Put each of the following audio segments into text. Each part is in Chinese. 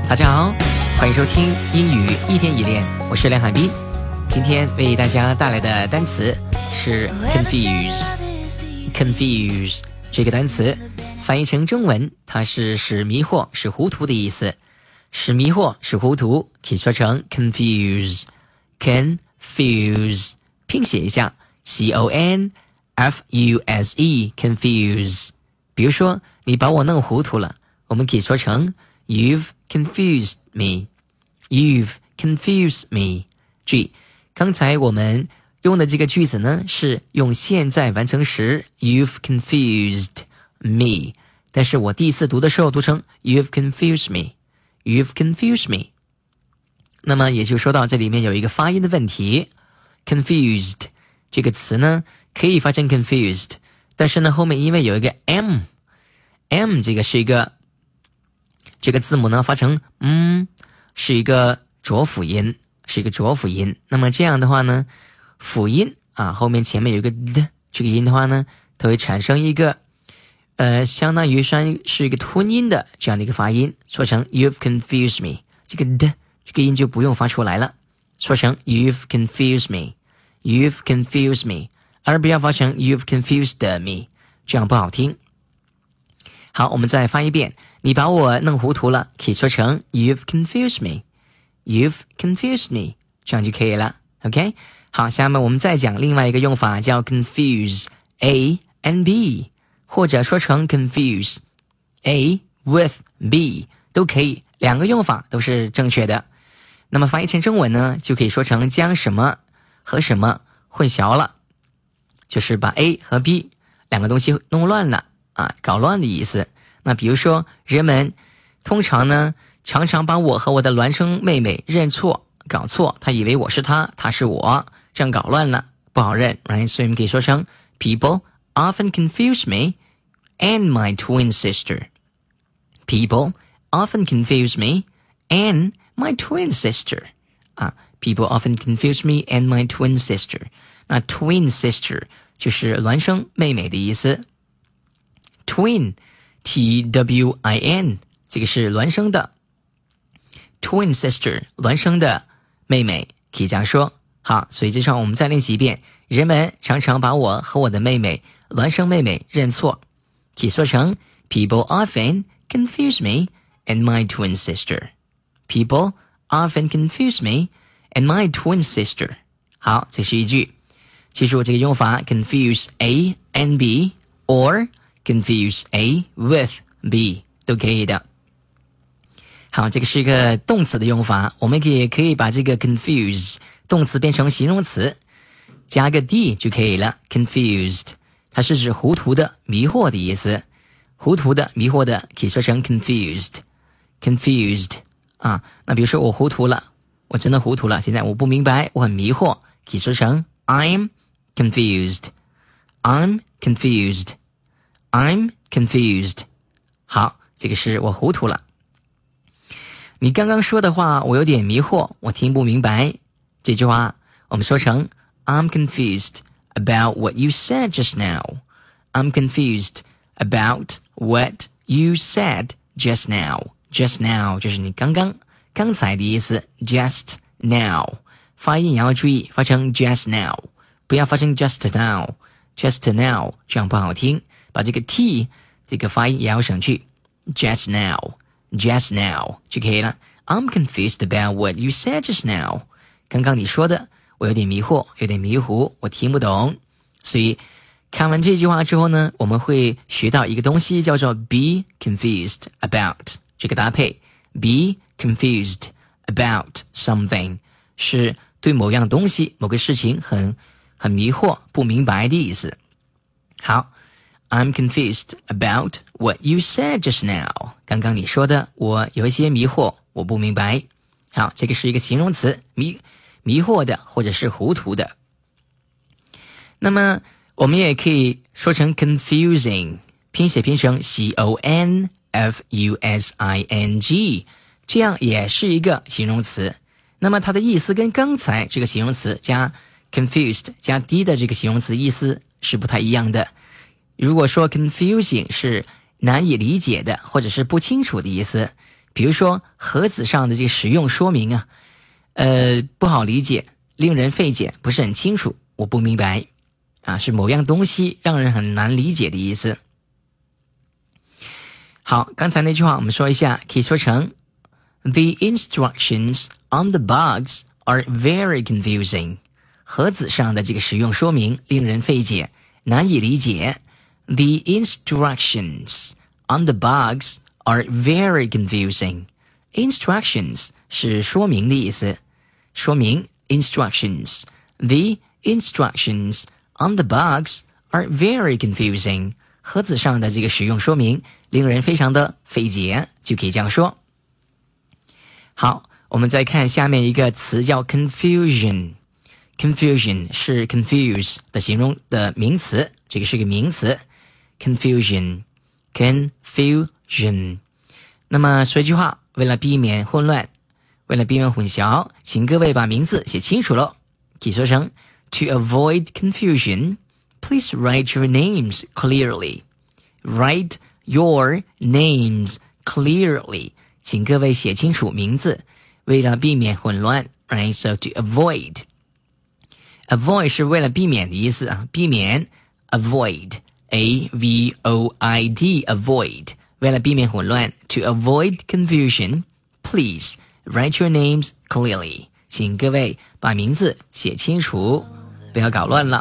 大家好，欢迎收听英语一天一练，我是梁海滨。今天为大家带来的单词是 confuse。这个单词翻译成中文，它是使迷惑、使糊涂的意思。使迷惑、使糊涂可以说成 confuse。拼写一下 confuse confuse。比如说你把我弄糊涂了，我们可以说成 You've confused me. You've confused me. 注意，刚才我们用的这个句子呢，是用现在完成时 You've confused me. 但是我第一次读的时候读成 You've confused me. You've confused me. 那么也就说到这里面有一个发音的问题。Confused 这个词呢，可以发成 confused， 但是呢后面因为有一个 M 这个是一个这个字母呢发成是一个浊辅音，那么这样的话呢，辅音后面前面有一个的这个音的话呢，它会产生一个相当于是一个吞音的这样的一个发音，说成 You've confused me， 这个的这个音就不用发出来了，说成 You've confused me， You've confused me， 而不要发成 You've confused me， 这样不好听。好，我们再发一遍，你把我弄糊涂了，可以说成 You've confused me. You've confused me. 这样就可以了 OK。 好，下面我们再讲另外一个用法，叫 confuse A and B， 或者说成 confuse A with B 都可以，两个用法都是正确的。那么翻译成中文呢，就可以说成将什么和什么混淆了，就是把 A 和 B 两个东西弄乱了搞乱的意思。那比如说人们通常呢常常把我和我的孪生妹妹搞错，他以为我是他，他是我，这样搞乱了，不好认 right？ 所以我们可以说成 People often confuse me and my twin sister. People often confuse me and my twin sister. People often confuse me and my twin sister. 那 twin sister 就是孪生妹妹的意思。Twin Twin 这个是孪生的 Twin sister 孪生的妹妹，可以这样说。好，所以这上我们再练习一遍，人们常常把我和我的妹妹孪生妹妹认错，可以说成 People often confuse me and my twin sister. People often confuse me and my twin sister. 好，这是一句，记住这个用法 confuse A and B or confuse A with B 都可以的。好，这个是一个动词的用法，我们也可以把这个 confuse 动词变成形容词，加个 d 就可以了。confused 它是指糊涂的、迷惑的意思，糊涂的、迷惑的可以说成 confused。 那比如说我糊涂了，我真的糊涂了，现在我不明白，我很迷惑，可以说成 I'm confused. I'm confused. I'm confused. 好，这个是我糊涂了。你刚刚说的话我有点迷惑，我听不明白，这句话我们说成 I'm confused about what you said just now. I'm confused about what you said just now. Just now 就是你刚才的意思， just now 发音也要注意，发成 just now， 不要发成 just now 这样不好听，把这个 t 这个发音也要省去， just now 就可以了。 I'm confused about what you said just now. 刚刚你说的我有点迷惑，有点迷糊，我听不懂。所以看完这句话之后呢，我们会学到一个东西叫做 be confused about， 这个搭配 be confused about something 是对某样东西某个事情很迷惑不明白的意思。好， I'm confused about what you said just now. 刚刚你说的我有一些迷惑，我不明白。好，这个是一个形容词，迷惑的或者是糊涂的。那么我们也可以说成 confusing， 拼写拼成 confusing， 这样也是一个形容词。那么它的意思跟刚才这个形容词加 confused 加 d 的这个形容词意思是不太一样的。如果说 confusing 是难以理解的或者是不清楚的意思， 比如说盒子上的这个使用说明啊，不好理解，令人费解，不是很清楚，我不明白啊，是某样东西让人很难理解的意思。好，刚才那句话我们说一下，可以说成 The instructions on the box are very confusing. 盒子上的这个使用说明令人费解，难以理解。The instructions on the box are very confusing. Instructions 是说明的意思，说明 instructions. The instructions on the box are very confusing. 盒子上的这个使用说明令人非常的费解，就可以这样说。好，我们再看下面一个词叫 confusion。Confusion 是 confuse 的形容的名词，这个是个名词。Confusion。那么说一句话，为了避免混乱，为了避免混淆，请各位把名字写清楚了。可以说成 To avoid confusion, please write your names clearly. Write your names clearly. 请各位写清楚名字，为了避免混乱。Right, so to avoid 是为了避免的意思啊，避免 avoid A-V-O-I-D avoid 为了避免混乱 To avoid confusion, please write your names clearly. 请各位把名字写清楚，不要搞乱了。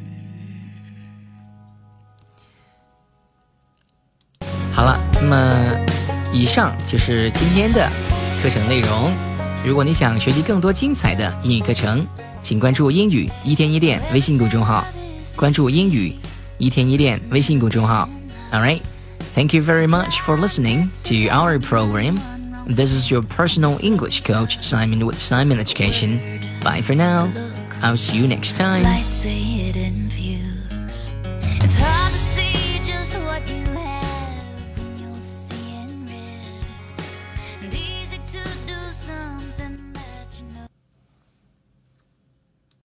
好了，那么以上就是今天的课程内容。如果你想学习更多精彩的英语课程，请关注英语一天一练微信公众号，关注英语一天一练微信公众号。Alright, thank you very much for listening to our program. This is your personal English coach, Simon with Simon Education. Bye for now. I'll see you next time.